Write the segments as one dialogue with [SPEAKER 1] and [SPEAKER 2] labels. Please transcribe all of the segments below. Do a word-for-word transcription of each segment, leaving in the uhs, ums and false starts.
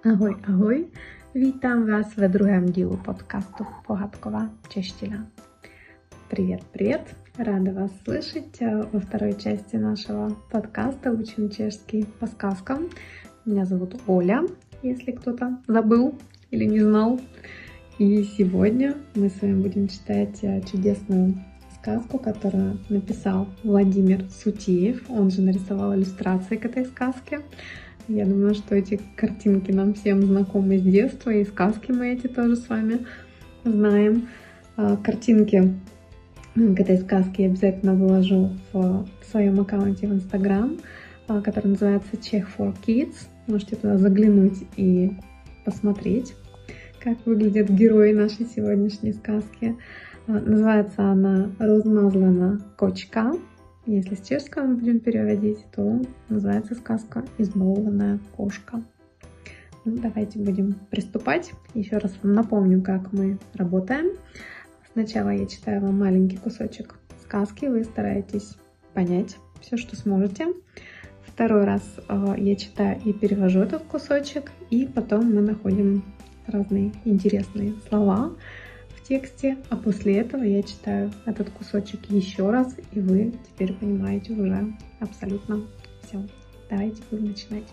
[SPEAKER 1] Ahoj, ahoj, vítám vás ve druhém dílu podcastu Pohádková čeština. Привет, привет, рада вас слышать во второй части нашего подкаста «Учим чешский по сказкам». Меня зовут Оля, если кто-то забыл или не знал. И сегодня мы с вами будем читать чудесную сказку, которую написал Владимир Сутеев. Он же нарисовал иллюстрации к этой сказке. Я думаю, что эти картинки нам всем знакомы с детства, и сказки мы эти тоже с вами знаем. Картинки к этой сказке я обязательно выложу в своем аккаунте в Instagram, который называется Czech for Kids. Можете туда заглянуть и посмотреть, как выглядят герои нашей сегодняшней сказки. Называется она «Розмазлена кочка». Если с чешского мы будем переводить, то называется сказка «Избалованная кошка». Ну, давайте будем приступать. Еще раз вам напомню, как мы работаем. Сначала я читаю вам маленький кусочек сказки, вы стараетесь понять все, что сможете. Второй раз э, я читаю и перевожу этот кусочек, и потом мы находим разные интересные слова в тексте, а после этого я читаю этот кусочек еще раз, и вы теперь понимаете уже абсолютно все. Давайте будем начинать.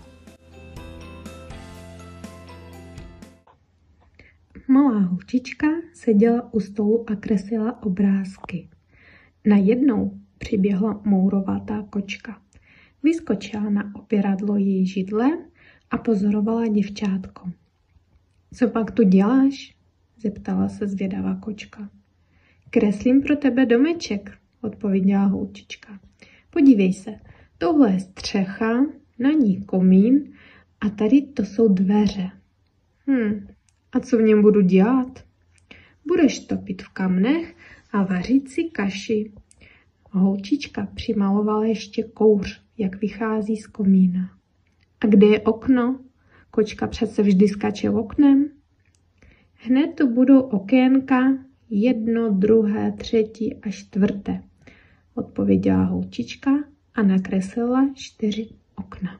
[SPEAKER 1] Malá holčička seděla u stolu a kreslila obrázky. Najednou přiběhla mourovatá kočka. Vyskočila na opěradlo její židle a pozorovala děvčátko. Co pak tu děláš? Zeptala se zvědavá kočka. Kreslím pro tebe domeček, odpověděla holčička. Podívej se, tohle je střecha, na ní komín a tady to jsou dveře. Hm, a co v něm budu dělat? Budeš topit v kamnech a vařit si kaši. Holčička přimalovala ještě kouř, jak vychází z komína. A kde je okno? Kočka přece vždy skače oknem. Hned tu budou okénka, jedno, druhé, třetí a čtvrté, odpověděla holčička a nakreslila čtyři okna.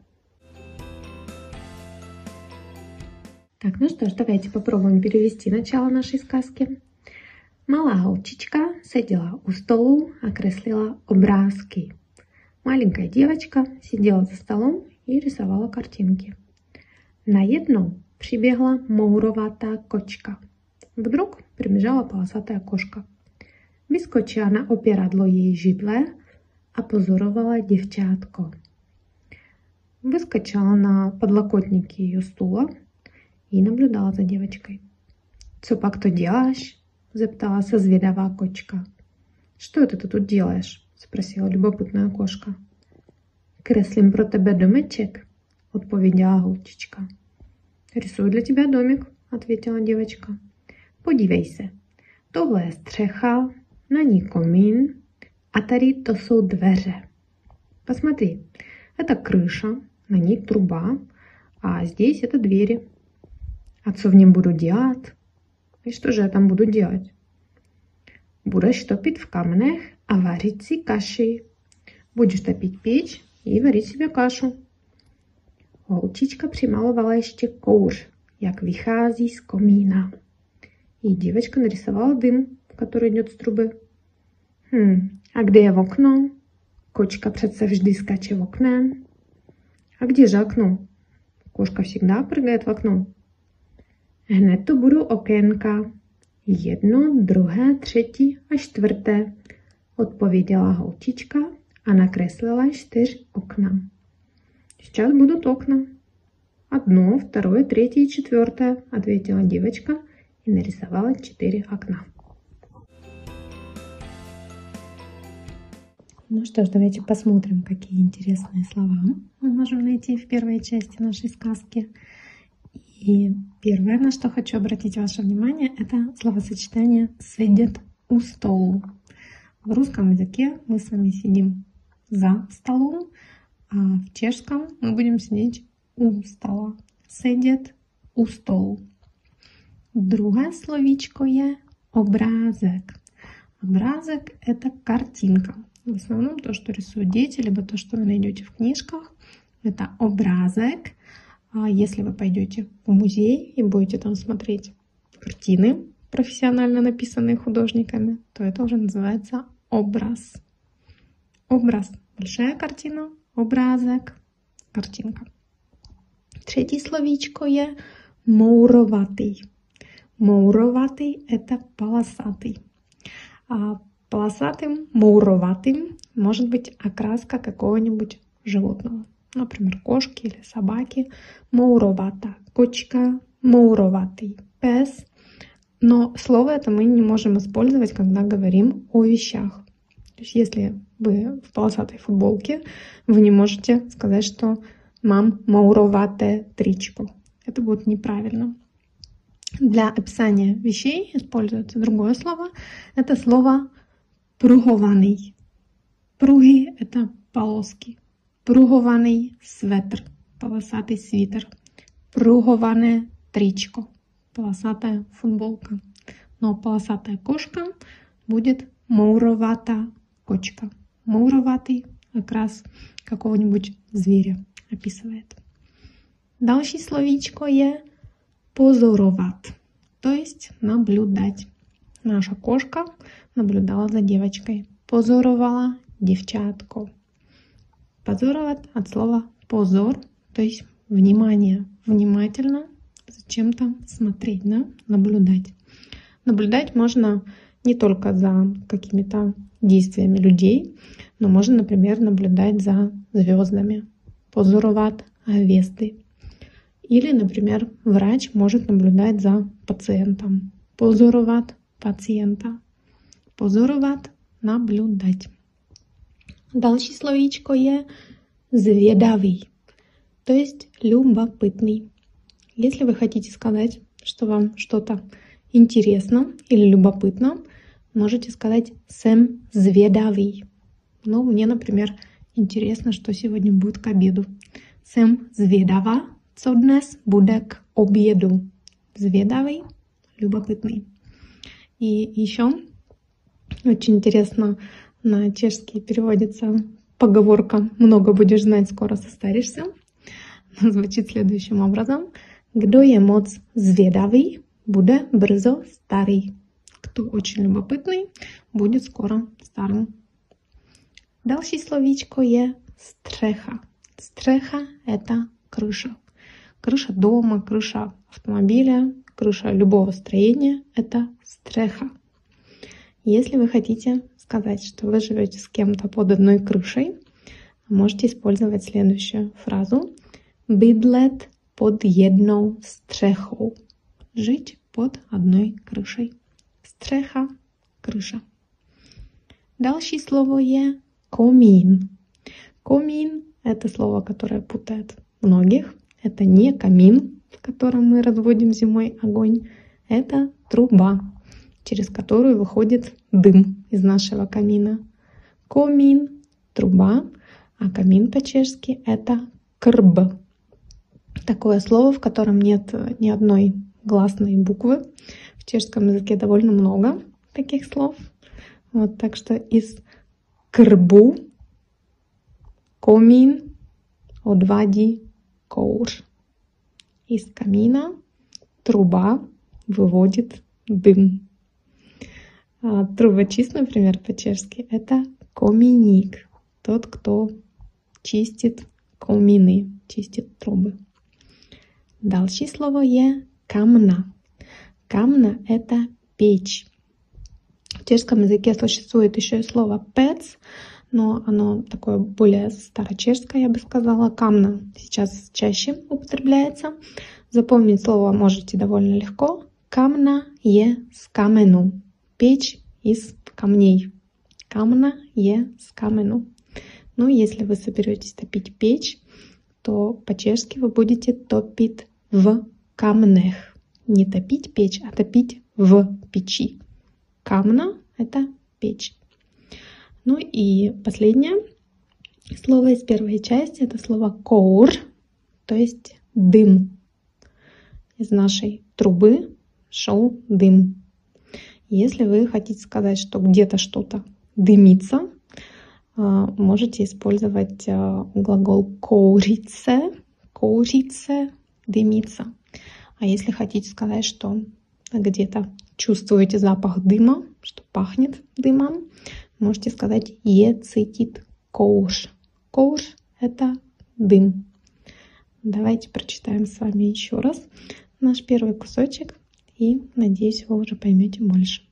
[SPEAKER 1] Так, ну что ж, давайте попробуем перевести начало нашей сказки. Малá holčička seděla u stolu a kreslila obrázky. Маленькая девочка сидела за столом и рисовала картинки. Наjednou přiběhla mourovatá kočka. Вдруг прибежала полосатая кошка. Vyskočila na opěradlo její židle a pozorovala děvčátko. Выскочила на подлокотники ее стула и наблюдала за девочкой. «Co pak to děláš?» – zeptala se zvědavá kočka. «Что это ты тут делаешь?» – спросила любопытная кошка. «Kreslím pro tebe domeček», – odpověděla holčička. «Рисую для тебя домик», – ответила девочка. «Podívej se, tohle je střecha, на ней комин, а tady to jsou dveře. Посмотри, это крыша, на ней труба, а здесь это двери. А что в нем буду делать? И что же я там буду делать? Будешь топить в камнях, а варить си каши. Будешь топить печь и варить себе кашу». Holčička přimalovala ještě kouř, jak vychází z komína. И девочка нарисовала дым, который идет с трубы. Хм, а где je окно? Кочка přece vždy скаче в окне. А где же окно? Кошка всегда прыгает в окно. Hned tu budou okénka. Jedno, druhé, třetí a čtvrté, odpověděla holčička a nakreslila čtyři okna. Сейчас будут окна. Одно, второе, третье и четвертое, ответила девочка и нарисовала четыре окна. Ну что ж, давайте посмотрим, какие интересные слова мы можем найти в первой части нашей сказки. И первое, на что хочу обратить ваше внимание, это словосочетание «сидят у столу». В русском языке мы с вами сидим за столом, а в чешском мы будем сидеть у стола. Сидять у столу. Другое словечко є образок. Образок — это картинка. В основном то, что рисуют дети, либо то, что вы найдете в книжках, это образок. А если вы пойдете в музей и будете там смотреть картины, профессионально написанные художниками, то это уже называется образ. Образ – большая картина, обрázek – картинка. Třetí slovíčko je mourovatý. Mourovatý – это полосатый. А полосатым, мourovatým может быть окраска какого-нибудь животного. Например, кошки или собаки. Mourovata кочка, mourovatý пес. Но слово это мы не можем использовать, когда говорим о вещах. То есть если вы в полосатой футболке, вы не можете сказать, что «мам mourovate тричко». Это будет неправильно. Для описания вещей используется другое слово. Это слово «пруhovaný». Пруги — это полоски. Пруhovaný светр, полосатый свитер. Пруhované тричко, полосатая футболка. Но полосатая кошка будет mourovata кочка. Mourovatý окрас какого-нибудь зверя описывает. Další slovíčko je позорovat, то есть наблюдать. Наша кошка наблюдала за девочкой. Позоровала девчатку. Позорovat от слова позор, то есть внимание, внимательно за чем-то смотреть, да? Наблюдать. Наблюдать можно не только за какими-то действиями людей, но можно, например, наблюдать за звездами. Позорovat hvězdy. Или, например, врач может наблюдать за пациентом. Позорovat пациента. Позорovat — наблюдать. Další slovíčko je zvědavý, то есть любопытный. Если вы хотите сказать, что вам что-то интересно или любопытно, можете сказать «jsem zvědavý». Ну, мне, например, интересно, что сегодня будет к обеду. Jsem zvědavá, co dnes bude к обеду. Zvědavý, любопытный. И еще очень интересно, на чешский переводится поговорка «много будешь знать, скоро состаришься». Звучит следующим образом. Kdo je moc zvědavý, bude brzo starý. Кто очень любопытный, будет скоро старым. Další slovíčko je střecha. Střecha — это крыша. Крыша дома, крыша автомобиля, крыша любого строения — это стřecha. Если вы хотите сказать, что вы живете с кем-то под одной крышей, можете использовать следующую фразу. Bydlet под jednou střechou. Жить под одной крышей. Střecha — крыша. Další slovo je комин. Комин — это слово, которое путает многих. Это не камин, в котором мы разводим зимой огонь. Это труба, через которую выходит дым из нашего камина. Комин — труба, а камин по-чешски — это крб. Такое слово, в котором нет ни одной гласной буквы. В чешском языке довольно много таких слов. Вот, так что из крбу комин odvádí kouř. Из камина труба выводит дым. А трубочист, например, по-чешски — это коминик. Тот, кто чистит комины, чистит трубы. Další slovo je камна. Камна — это печь. В чешском языке существует еще и слово пец, но оно такое более старочешское, я бы сказала. Камна сейчас чаще употребляется. Запомнить слово можете довольно легко. Камна je z камену. Печь из камней. Камна je z камену. Ну, если вы соберетесь топить печь, то по-чешски вы будете топить в камнях. Не топить печь, а топить в печи. Камна — это печь. Ну и последнее слово из первой части — это слово кouр, то есть дым. Из нашей трубы шел дым. Если вы хотите сказать, что где-то что-то дымится, можете использовать глагол кouřit se. Кouřit se дымится. А если хотите сказать, что где-то чувствуете запах дыма, что пахнет дымом, можете сказать ецитит коуш. Коуш — это дым. Давайте прочитаем с вами еще раз наш первый кусочек, и, надеюсь, вы уже поймете больше.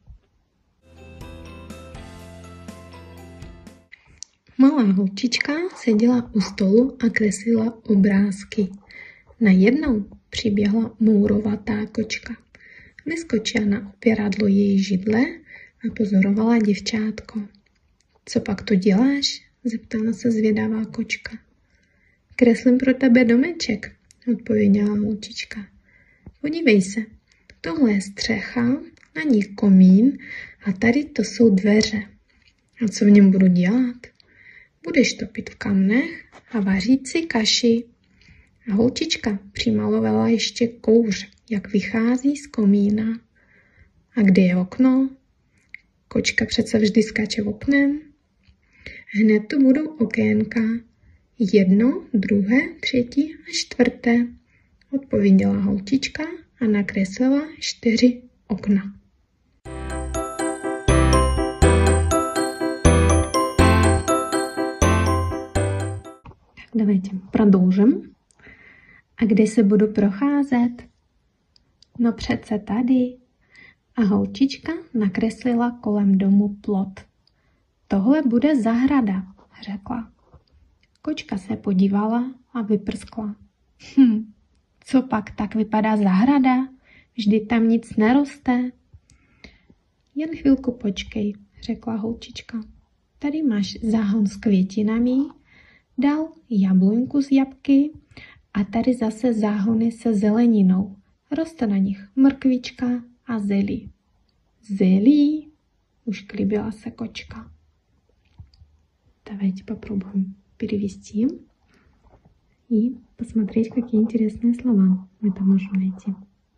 [SPEAKER 1] Malá holčička seděla u stolu a kreslila obrázky. Najednou přiběhla mourovatá kočka. Vyskočila na opěradlo její židle a pozorovala děvčátko. Co pak tu děláš? Zeptala se zvědavá kočka. Kreslím pro tebe domeček, odpověděla holčička. Podívej se, tohle je střecha, na ní komín a tady to jsou dveře. A co v něm budu dělat? Budeš topit v kamnech a vařit si kaši. A holčička přimalovala ještě kouř, jak vychází z komína. A kde je okno? Kočka přece vždy skáče oknem. Hned tu budou okénka. Jedno, druhé, třetí a čtvrté, odpověděla holčička a nakreslila čtyři okna. Давайте продолжим. A kde se budu procházet? No přece tady. A holčička nakreslila kolem domu plot. Tohle bude zahrada, řekla. Kočka se podívala a vyprskla. Hm, co pak tak vypadá zahrada? Vždyť tam nic neroste. Jen chvilku počkej, řekla holčička. Tady máš záhon s květinami, dál jabloňku z jabky a tady zase záhony se zeleninou. Roste na nich mrkvička a zelí. Zelí, ušklibila se kočka. Давайте попробуем перевести и посмотреть, какие интересные слова мы там можем найти.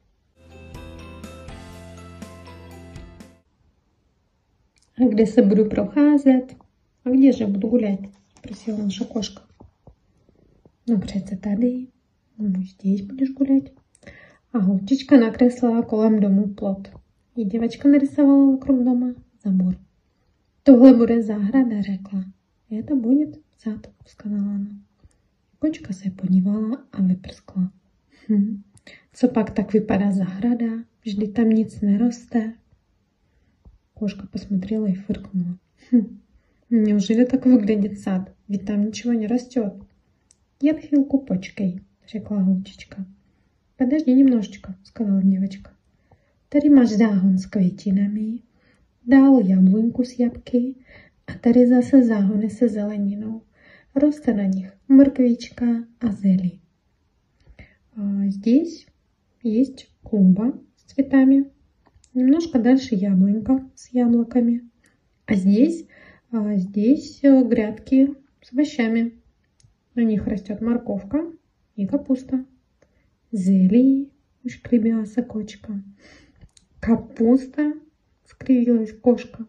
[SPEAKER 1] А где se буду procházet? А где же я буду гулять? Спросила наша кошка. Ну, přece tady. Ну, здесь будешь гулять. А holčička nakreslila kolem domu plot. И девочка нарисовала вокруг дома забор. Tohle bude zahrada, řekla. Это будет сад, сказала она. Kočka se podívala a vyprskla. Hm, co pak tak vypadá zahrada? Vždyť tam nic neroste. Кошка посмотрела и фыркнула. Хм, неужели так выглядит сад? Ведь там ничего не растет. Я хвилку почкай, řekla holčička. Подожди немножечко, сказала девочка. Tady máš záhon s květinami, dál jabloňku z jabky a tady zase záhony se zeleninou. Roste на них морковичка а зелень. А здесь есть клумба с цветами. Немножко дальше яблонька с яблоками. А здесь, а здесь грядки с овощами. На них растет морковка и капуста. Зелень, ушкребилась кочка. Капуста, скривилась кошка.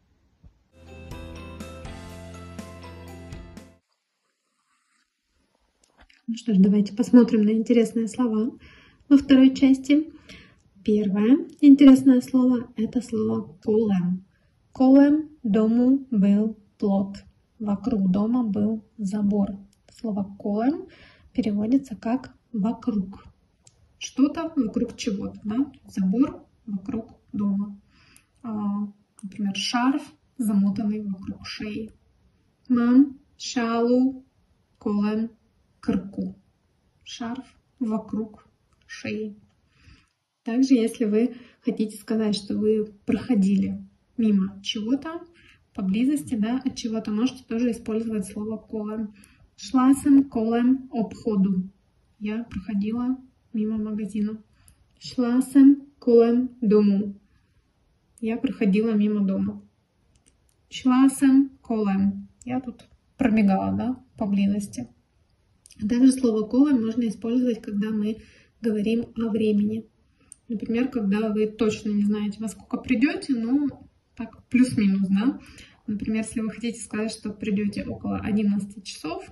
[SPEAKER 1] Ну что ж, давайте посмотрим на интересные слова во второй части. Первое интересное слово – это слово колем. Колем дому был плот. Вокруг дома был забор. Слово колем переводится как вокруг. Что-то вокруг чего-то, да? Забор вокруг дома. А, например, шарф, замотанный вокруг шеи. Мам шалу колем крку. Шарф вокруг шеи. Также, если вы хотите сказать, что вы проходили мимо чего-то, поблизости, да, от чего-то, можете тоже использовать слово колем. Шла съм колем обходу. Я проходила мимо магазина. Шла съм колем дому. Я проходила мимо дома. Шла съм колем. Я тут пробегала, да, поблизости. Также слово колем можно использовать, когда мы говорим о времени. Например, когда вы точно не знаете, во сколько придете, ну, так, плюс-минус, да. Например, если вы хотите сказать, что придете около одиннадцати часов,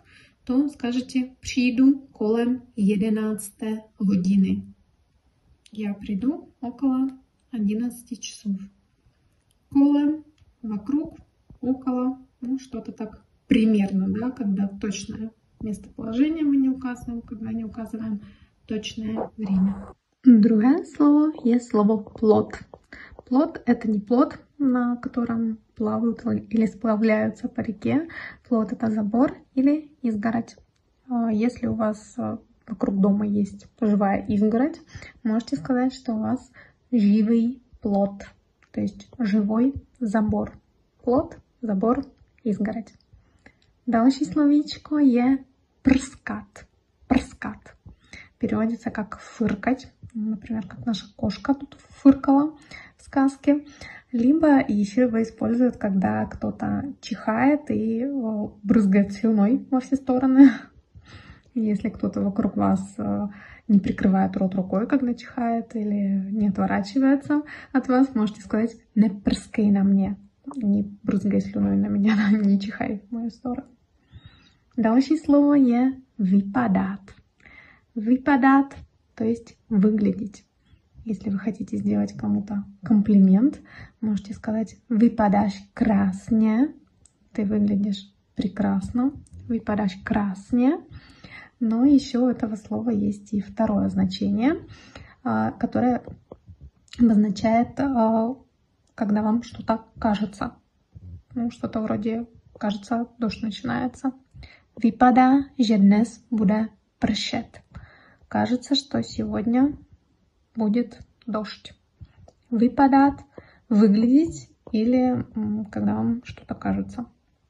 [SPEAKER 1] to скажете «přijdu kolem jedenácté hodiny». Я приду около одиннадцати часов. Колем, вокруг, около, ну что-то так примерно, да, когда точное местоположение мы не указываем, когда не указываем точное время. Другое слово есть слово плот. Плот — это не плот, на котором плавают или сплавляются по реке. Плот — это забор или изгородь. Если у вас вокруг дома есть живая изгородь, можете сказать, что у вас живый плот, то есть живой забор. Плот, забор, изгородь. Další slovíčko je prskat. Prskat. Переводится как фыркать. Например, как наша кошка тут фыркала в сказке. Либо еще его используют, когда кто-то чихает и брызгает слюной во все стороны. Если кто-то вокруг вас не прикрывает рот рукой, когда чихает, или не отворачивается от вас, можете сказать «не прыскай на мне», не брызгай слюной на меня, не чихай в мою сторону. Další слово je vypadat. Vypadat, то есть выглядеть. Если вы хотите сделать кому-то комплимент, можете сказать «vypadáš krásně», ты выглядишь прекрасно, «vypadáš krásně». Но еще у этого слова есть и второе значение, которое обозначает, когда вам что-то кажется. Ну, что-то вроде «кажется, дождь начинается». Vypadá, že dnes bude pršet. Кажется, что сегодня будет дождь. Vypadat — выглядеть или когда вам что-то кажется.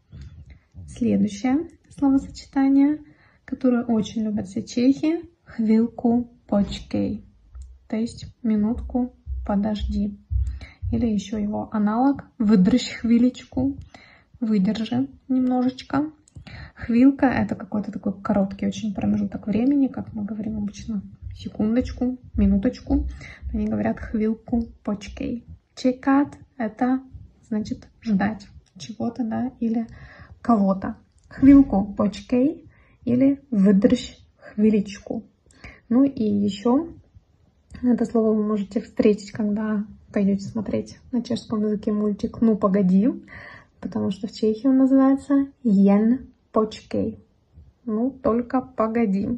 [SPEAKER 1] Следующее словосочетание, которое очень любят все чехи — chvilku počkej, то есть минутку подожди. Или еще его аналог выдержь хвилечку, выдержи немножечко. Хвилка — это какой-то такой короткий очень промежуток времени, как мы говорим обычно, секундочку, минуточку. Они говорят хвилку почкей. Чекат — это значит ждать чего-то, да, или кого-то. Хвилку почкей или выдержь хвилечку. Ну и еще это слово вы можете встретить, когда пойдете смотреть на чешском языке мультик «Ну, погоди», потому что в Чехии он называется «Jen počkej». Ну, только погоди.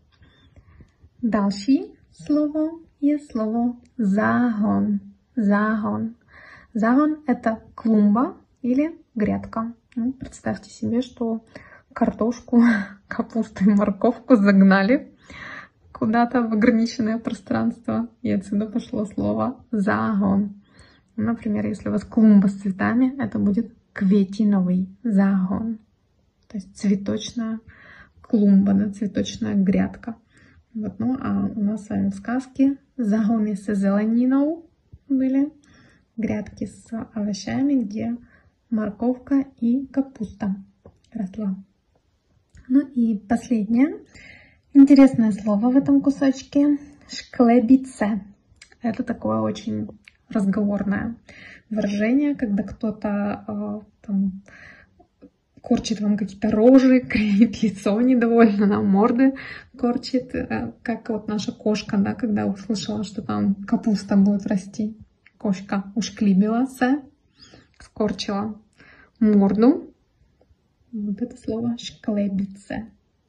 [SPEAKER 1] Další slovo je slovo záhon. Záhon. Záhon — это клумба или грядка. Ну, представьте себе, что картошку, капусту и морковку загнали куда-то в ограниченное пространство. И отсюда пошло слово «záhon». Например, если у вас клумба с цветами, это будет кветиновый záhon. То есть цветочная клумба, да, цветочная грядка. Вот, ну, а у нас с вами в сказке záhony se zeleninou были, грядки с овощами, где морковка и капуста росла. Ну и последнее интересное слово в этом кусочке — шклебице. Это такое очень разговорное выражение, когда кто-то э, там корчит вам какие-то рожи, кривит лицо недовольно, на морды корчит, э, как вот наша кошка, да, когда услышала, что там капуста будет расти. Кошка ушклибилась, скорчила морду. Вот это слово шклебице.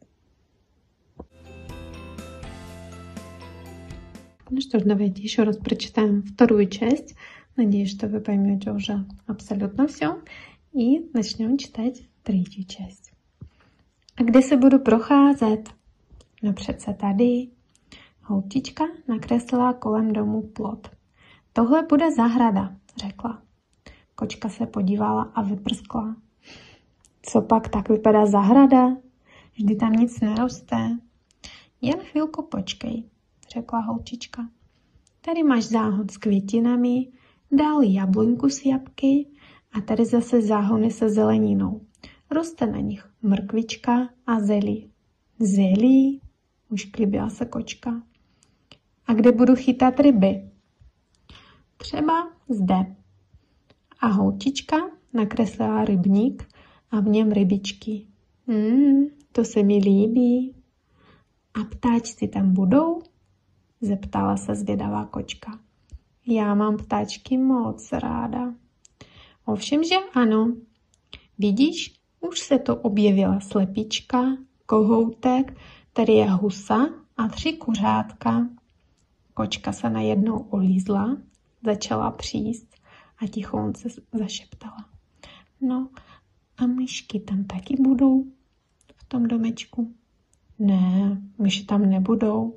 [SPEAKER 1] Ну что ж, давайте еще раз прочитаем вторую часть. Надеюсь, что вы поймете уже абсолютно все. И начнем читать третью часть. A kde se budu procházet? No přece tady. Holčička nakreslila kolem domu plot. Tohle bude zahrada, řekla. Kočka se podívala a vyprskla. Co pak tak vypadá zahrada? Vždy tam nic neroste. Jen chvilku počkej, řekla holčička. Tady máš záhon s květinami, dál jabloňku s jabky a tady zase záhony se zeleninou. Roste na nich mrkvička a zelí. Zelí, už klibila se kočka. A kde budu chytat ryby? Třeba zde. A holčička nakreslila rybník a v něm rybičky. Mm, to se mi líbí. A ptáčci tam budou? Zeptala se zvědavá kočka. Já mám ptáčky moc ráda. Ovšem, že ano. Vidíš, už se to objevila slepička, kohoutek, tady je husa a tři kuřátka. Kočka se najednou olízla, začala příst a tichonce zašeptala. No a myšky tam taky budou v tom domečku? Ne, myši tam nebudou.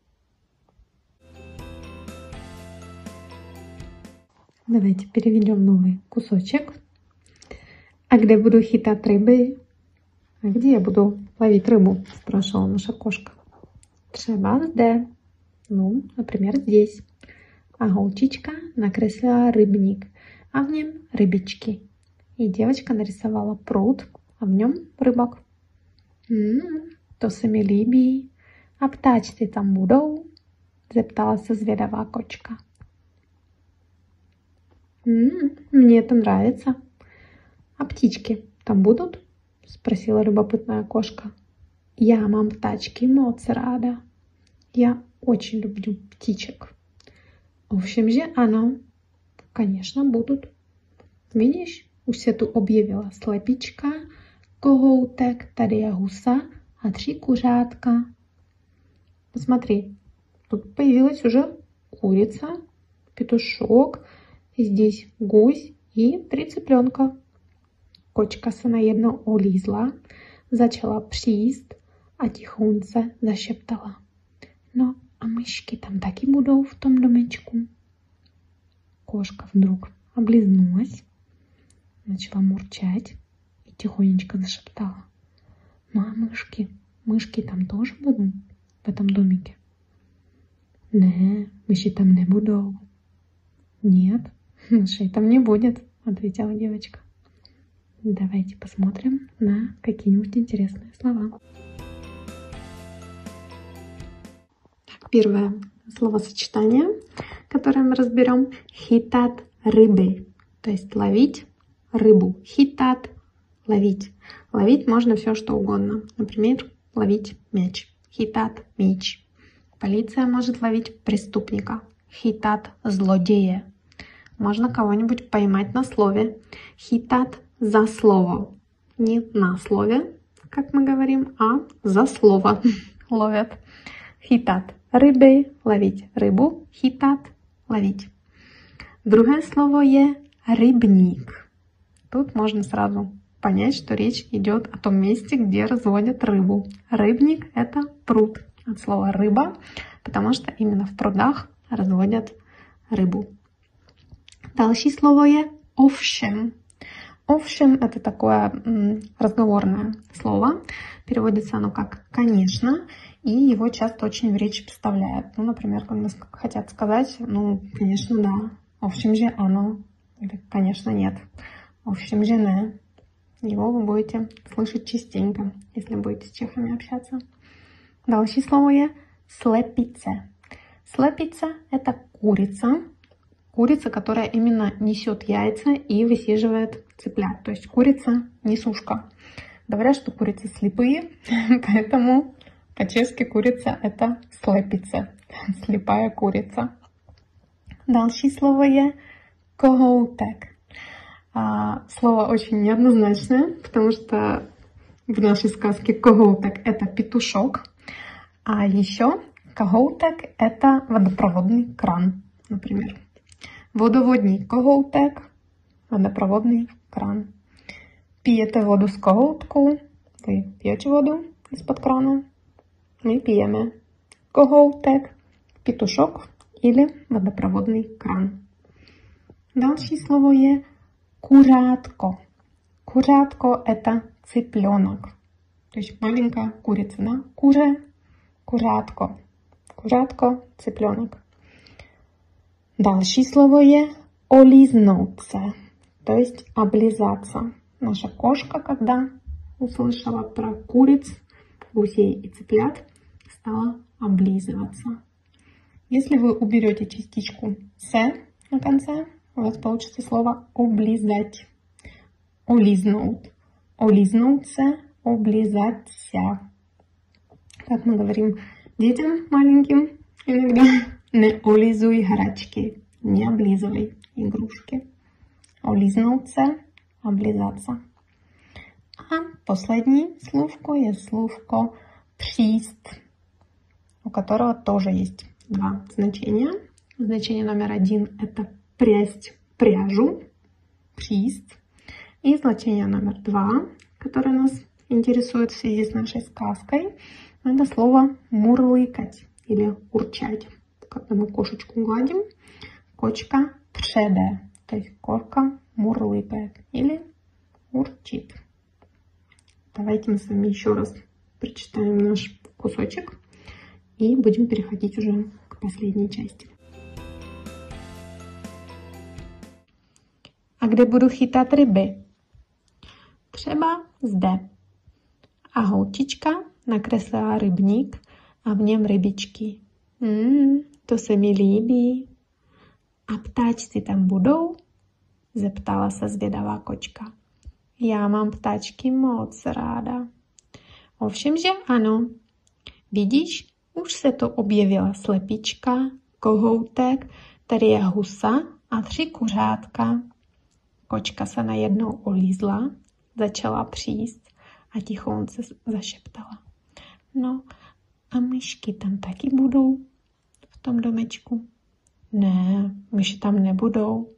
[SPEAKER 1] Давайте переведем новый кусочек. А где буду хитать рыбы? А где я буду ловить рыбу? Спрашивала наша кошка. Třeba zde. Ну, например, здесь. А голчичка накреслила рыбник, а в нем рыбички. И девочка нарисовала пруд, а в нем рыбок. М-м, to se mi líbí. A ptáčci tam budou? Zeptala se zvědavá kočka. М-м, мне это нравится. А птички там будут? Спросила любопытная кошка. Я мам птачки моц рада. Я очень люблю птичек. В общем же, ano, конечно, будут. Видишь, už se tu objevila slepička, kohoutek, tady je husa a tři kuřátka. Посмотри, тут появилась уже курица, петушок, здесь гусь и три цыпленка. Kočka se najednou olízla, začala příst a tichonce zašeptala. No a myšky tam taky budou v tom domečku? Кошка вдруг облизнулась, начала мурчать и тихонечко зашептала. Ну а мышки, мышки там тоже будут в этом домике? Не, мыши там не будут. Нет, мышей там не будет, ответила девочка. Давайте посмотрим на какие-нибудь интересные слова. Первое словосочетание, которое мы разберем, хитат рыбы, то есть ловить рыбу. Хитат – ловить. Ловить можно все, что угодно. Например, ловить мяч. Хитат – мяч. Полиция может ловить преступника. Хитат – злодея. Можно кого-нибудь поймать на слове. Хитат – за слово. Не на слове, как мы говорим, а за слово ловят. Хитат – рыбы, ловить рыбу. Хитат – ловить. Другое слово je рыбник. Тут можно сразу понять, что речь идет о том месте, где разводят рыбу. Рыбник – это пруд. От слова рыба, потому что именно в прудах разводят рыбу. Дальше слово je овшем. Овшем – это такое м, разговорное слово. Переводится оно как «конечно», и его часто очень в речи вставляют. Ну, например, когда хотят сказать, ну, конечно, да. В общем же, оно. Или, конечно, нет. В общем же, не. Его вы будете слышать частенько, если будете с чехами общаться. Дальше слово je слепице. Слепица – это курица. Курица, которая именно несет яйца и высиживает цыплят. То есть курица несушка. Говорят, что курицы слепые, поэтому по-чешски курица – это слепица. Слепая курица. Дальше слово je kohoutek. Слово очень неоднозначное, потому что в нашей сказке kohoutek – это петушок. А еще kohoutek – это водопроводный кран, например. Водоводний kohoutek, водопроводный кран. Пьете воду с kohoutku, вы пьете воду из-под крана, мы пьем. Kohoutek, петушок или водопроводный кран. Дальше слово je курятко. Курятко – это цыпленок. То есть маленькая курица, да? Куре, курятко. Курятко, цыпленок. Дальше слово je олизнуться, то есть облизаться. Наша кошка, когда услышала про куриц, гусей и цыплят, стала облизываться. Если вы уберете частичку «с» на конце, у вас получится слово «облизать». Олизнуть. Олизнуться, облизаться. Как мы говорим детям маленьким иногда, не олизуй грачки, не облизывай игрушки. Олизнуться, облизаться. A poslední словко je словко příst, у которого тоже есть два значения. Значение номер один – это прясть пряжу, příst. И значение номер два, которое нас интересует в связи с нашей сказкой, это слово мурлыкать или урчать. Когда мы кошечку гладим, кошка přejde, то есть кошка мурлыкает или урчит. Давайте мы с вами еще раз прочитаем наш кусочек и будем переходить уже к последней части. A kde budu chytat ryby? Třeba zde. A holčička nakreslila rybník a v něm rybičky. Mm, to se mi líbí. A ptáčci tam budou? Zeptala se zvědavá kočka. Já mám ptáčky moc ráda. Ovšem, že ano. Vidíš, už se to objevila slepička, kohoutek, tady je husa a tři kuřátka. Kočka se najednou olízla, začala příst a tichonce zašeptala. No a myšky tam taky budou v tom domečku? Ne, myši tam nebudou.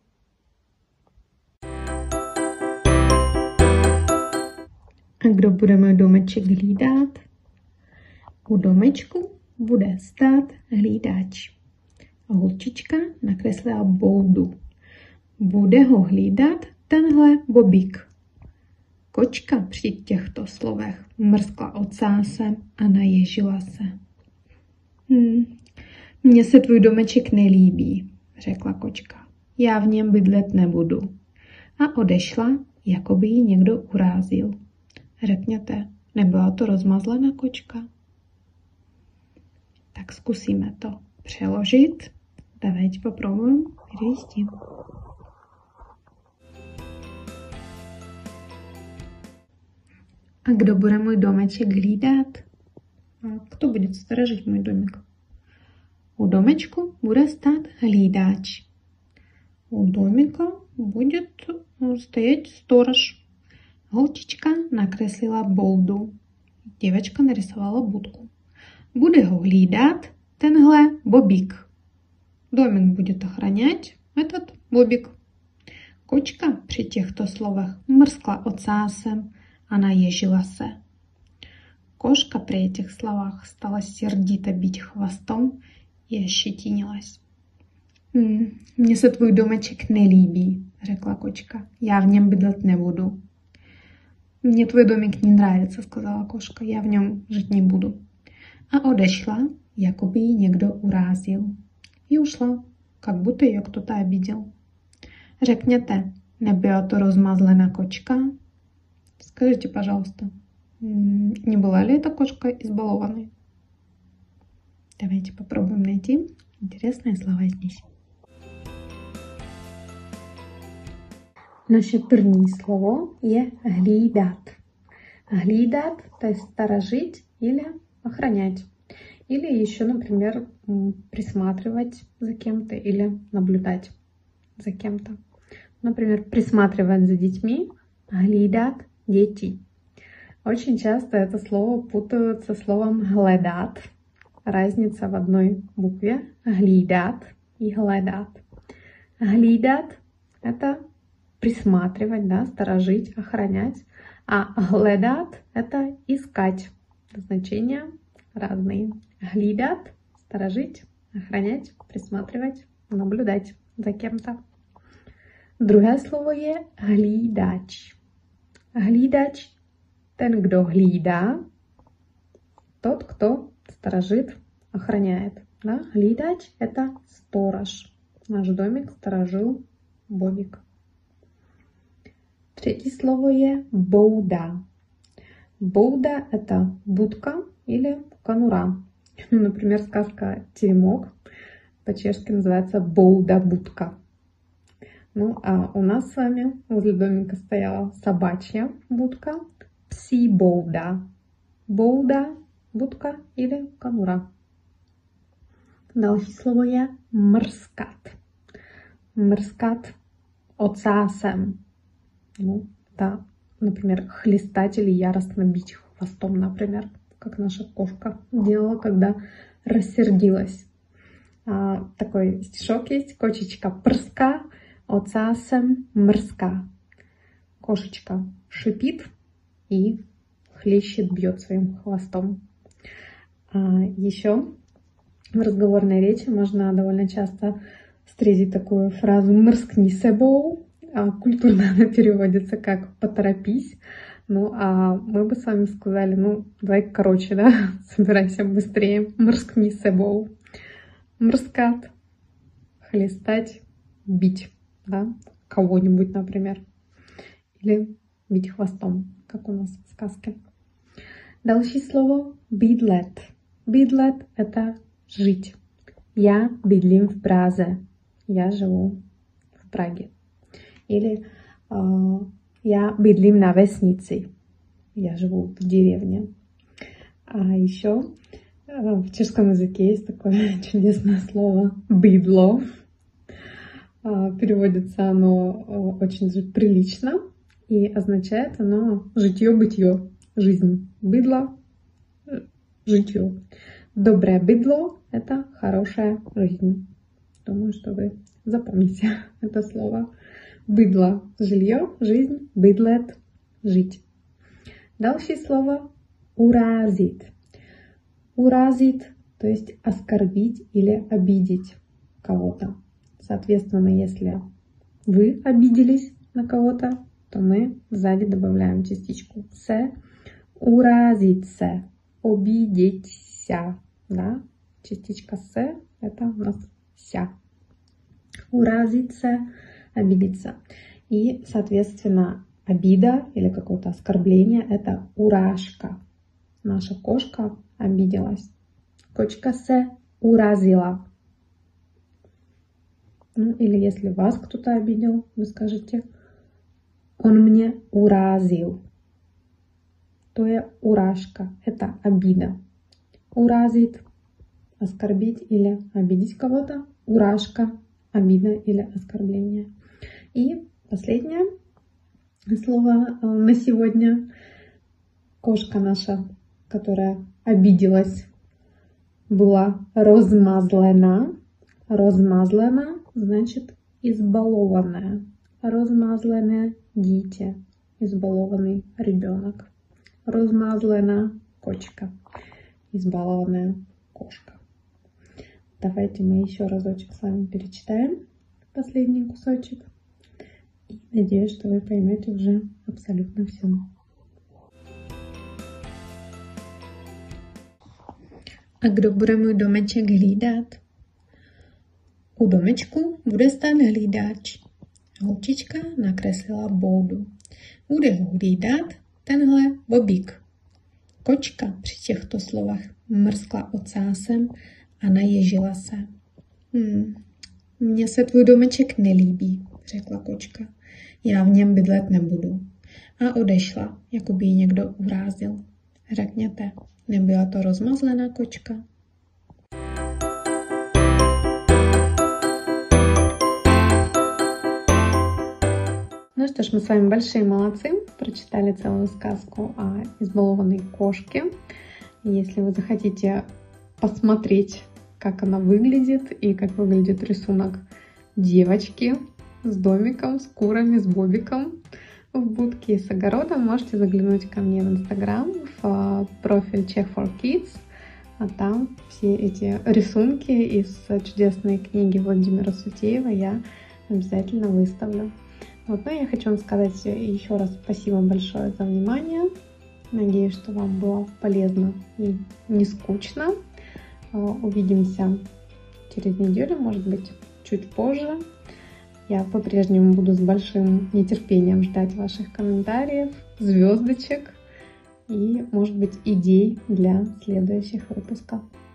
[SPEAKER 1] A kdo bude můj domeček hlídat? U domečku bude stát hlídač. A holčička nakreslila boudu. Bude ho hlídat tenhle bobík. Kočka při těchto slovech mrskla ocásem a naježila se. Hm, mně se tvůj domeček nelíbí, řekla kočka. Já v něm bydlet nebudu. A odešla, jako by ji někdo urázil. Řekněte, nebyla to rozmazlená kočka? Tak zkusíme to přeložit. Давайте попробуем перевести. A kdo bude můj domeček hlídat? A kdo bude strážit můj domek? U domečku bude stát hlídač. У домика будет стоять сторож. Holčička nakreslila boldu. Děvečka narysovala budku. Bude ho hlídat tenhle bobík. Домик будет охранять этот бобик. Kočka při těchto slovech mrskla ocásem a naježila se. Кошка при этих словах стала сердито бить хвостом и ощетинилась. Mně se tvůj domeček nelíbí, řekla kočka. Já v něm bydlet nebudu. Мне твой домик не нравится, сказала кошка. Я в něm жить не буду. A odešla, jako by ji někdo urázil. И ушла, как будто ее кто-то обидел. Řekněte, nebyla to rozmazlená kočka? Скажите, пожалуйста, не была ли эта кошка избалованной? Давайте попробуем найти интересные слова здесь. Naše první slovo je hlídat. Hlídat, то есть сторожить или охранять. Или еще, например, присматривать за кем-то или наблюдать за кем-то. Например, присматривать за детьми, hlídat děti. Очень часто это слово путают со словом hledat. Разница в одной букве. Hlídat и hledat. Hlídat – это присматривать, да, сторожить, охранять. А hledat – это искать. Значения разные. Hlídat – сторожить, охранять, присматривать, наблюдать за кем-то. Druhé slovo je hlídač. Hlídač – ten, kdo hlídá, тот, кто сторожит, охраняет. Да? Hlídač – это сторож. Наш домик сторожил Бобик. Třetí slovo je bouda. Бouda – это будка или конура. Например, сказка «Теремок» по-чешски называется «Боуда-будка». Ну, а у нас с вами возле домика стояла собачья будка, псí bouda. Bouda, будка или конура. Další slovo je mrskat. Mrskat ocásem. Ну, да, например, хлестать или яростно бить хвостом, например, как наша кошка делала, когда рассердилась. А, такой стишок есть. Кошечка прска, ocásem мрска. Кошечка шипит и хлещет, бьет своим хвостом. А, еще в разговорной речи можно довольно часто встретить такую фразу «мрскни себоу». Культурно она переводится как «поторопись». Ну, а мы бы с вами сказали, ну, давай короче, да, собирайся быстрее. «Мрскни себоу». Мрскат. Хлестать, бить, да, кого-нибудь, например. Или бить хвостом, как у нас в сказке. Další слово «bydlet». «Bydlet» — это жить. Я bydlím в Празе. Я живу в Праге. Или э, я bydlím на vesnici. Я живу в деревне. А еще э, в чешском языке есть такое чудесное слово «быдло». Э, переводится оно э, очень же прилично и означает оно житье-бытье, жизнь. Быдло — житье. Доброе быдло — это хорошая жизнь. Думаю, что вы запомните это слово. Быдло — жилье, жизнь, быдлет — жить. Дальше слово уразит. Уразит, то есть оскорбить или обидеть кого-то. Соответственно, если вы обиделись на кого-то, то мы сзади добавляем частичку «се». Уразиться, обидеться, да? Частичка «се» — это у нас «ся». Уразиться, обидеться. И, соответственно, обида или какое-то оскорбление — это уражка. Наша кошка обиделась. Кошка се уразила. Ну, или если вас кто-то обидел, вы скажете «он мне уразил». То есть уражка — это обида. Уразит — оскорбить или обидеть кого-то. Уражка — обида или оскорбление. И последнее слово на сегодня. Кошка наша, которая обиделась, была розмазлена. Розмазлена значит избалованная. Розмазлене дитя, избалованный ребенок. Розмазлена кошка, избалованная кошка. Давайте мы еще разочек с вами перечитаем последний кусочек. И надеюсь, что вы поймете уже абсолютно все. A kdo bude můj domeček hlídat? U domečku bude stát hlídač. Holčička nakreslila boudu. Bude ho hlídat tenhle bobík. Kočka při těchto slovech mrskla ocásem a naježila se. Hmm, mně se tvůj domeček nelíbí, řekla kočka. Já v něm bydlet nebudu. A odešla, jako by ji někdo urazil. Řekněte, nebyla to rozmazlená kočka? Ну что ж, мы с вами большие молодцы, прочитали целую сказку о избалованной кошке. Если вы захотите посмотреть, как она выглядит и как выглядит рисунок девочки с домиком, с курами, с бобиком в будке и с огородом, можете заглянуть ко мне в Инстаграм, в профиль Czech for Kids. А там все эти рисунки из чудесной книги Владимира Сутеева я обязательно выставлю. Вот, ну, я хочу вам сказать еще раз спасибо большое за внимание. Надеюсь, что вам было полезно и не скучно. Увидимся через неделю, может быть, чуть позже. Я по-прежнему буду с большим нетерпением ждать ваших комментариев, звездочек и, может быть, идей для следующих выпусков.